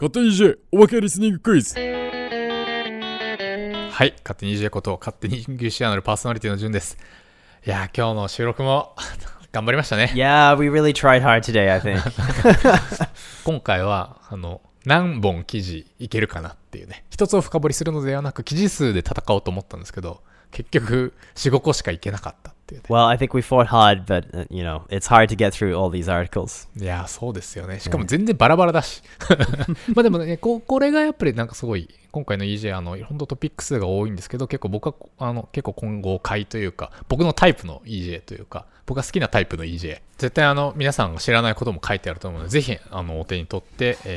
勝手に EJ おまけリスニングクイズ。 はい、勝手に EJ こと勝手にイングリッシュアナルパーソナリティのじゅんです。いや今日の収録も頑張りましたね。 Yeah, we really tried hard today, I think. 今回は何本記事いけるかなっていうね、一つを深掘りするのではなく記事数で戦おうと思ったんですけど、結局 4,5 個しかいけなかったっていうね。 Well, I think we fought hard, but it's hard to get through all these articles. いやそうですよね。しかも全然バラバラだしまあでもね、これがやっぱりなんかすごい今回の EJ 本当トピック数が多いんですけど、結構僕は結構混合回というか、僕のタイプの EJ というか、僕が好きなタイプの EJ、 絶対皆さんが知らないことも書いてあると思うので、ぜひお手に取って、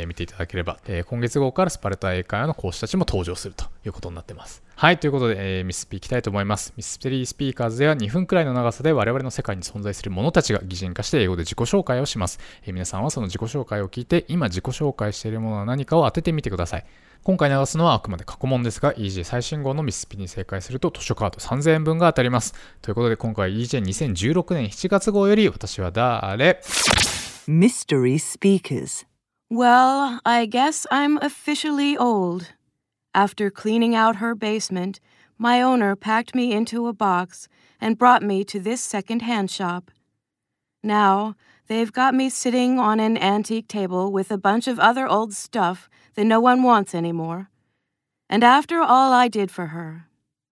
見ていただければ、今月号からスパルタ英会話の講師たちも登場するということになってます。はい、ということで、ミススピいきたいと思います。ミステリースピーカーズでは2分くらいの長さで我々の世界に存在する者たちが擬人化して英語で自己紹介をします。皆さんはその自己紹介を聞いて、今自己紹介しているものは何かを当ててみてください。今回流すのはあくまで過去問ですが、 EJ 最新号のミススピに正解すると図書カード3000円分が当たります。ということで今回 EJ2016 年7月号より私は誰 Mystery Speakers. Well, I guess I'm officially old. After cleaning out her basement, my owner packed me into a box and brought me to this second-hand shop. Now, they've got me sitting on an antique table with a bunch of other old stuff that no one wants anymore. And after all I did for her.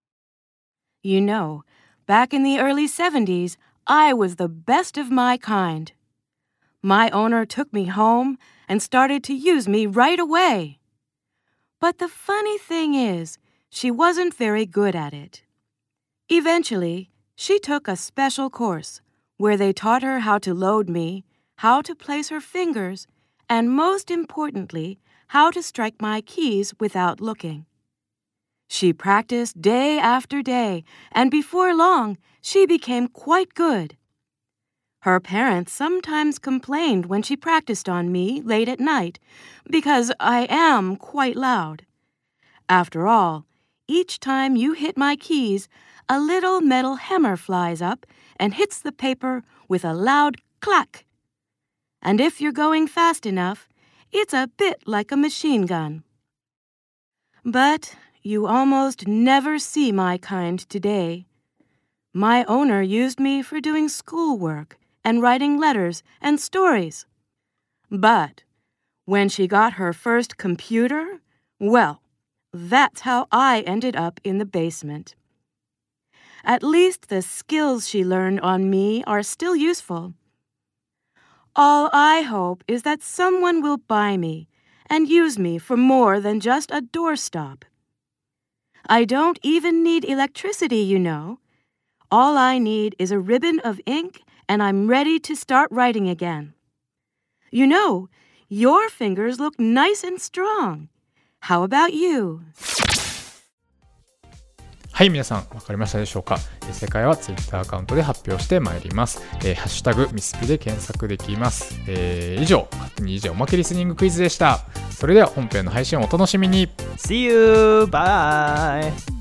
You know, back in the early 70s, I was the best of my kind. My owner took me home and started to use me right away. But the funny thing is, she wasn't very good at it. Eventually, she took a special course where they taught her how to load me, how to place her fingers, and most importantly, how to strike my keys without looking. She practiced day after day, and before long, she became quite good. Her parents sometimes complained when she practiced on me late at night, because I am quite loud. After all, each time you hit my keys, a little metal hammer flies up and hits the paper with a loud clack. And if you're going fast enough, it's a bit like a machine gun. But you almost never see my kind today. My owner used me for doing schoolwork and writing letters and stories. But when she got her first computer, well, that's how I ended up in the basement. At least the skills she learned on me are still useful. All I hope is that someone will buy me and use me for more than just a doorstop. I don't even need electricity, you know. All I need is a ribbon of ink and I'm ready to start writing again. You know, your fingers look nice and strong. How about you? はい、皆さん分かりましたでしょうか。正解は Twitter アカウントで発表してまいります。ハッシュタグミスピで検索できます。以上、勝手に EJ おまけリスニングクイズでした。それでは本編の配信をお楽しみに。 See you! Bye!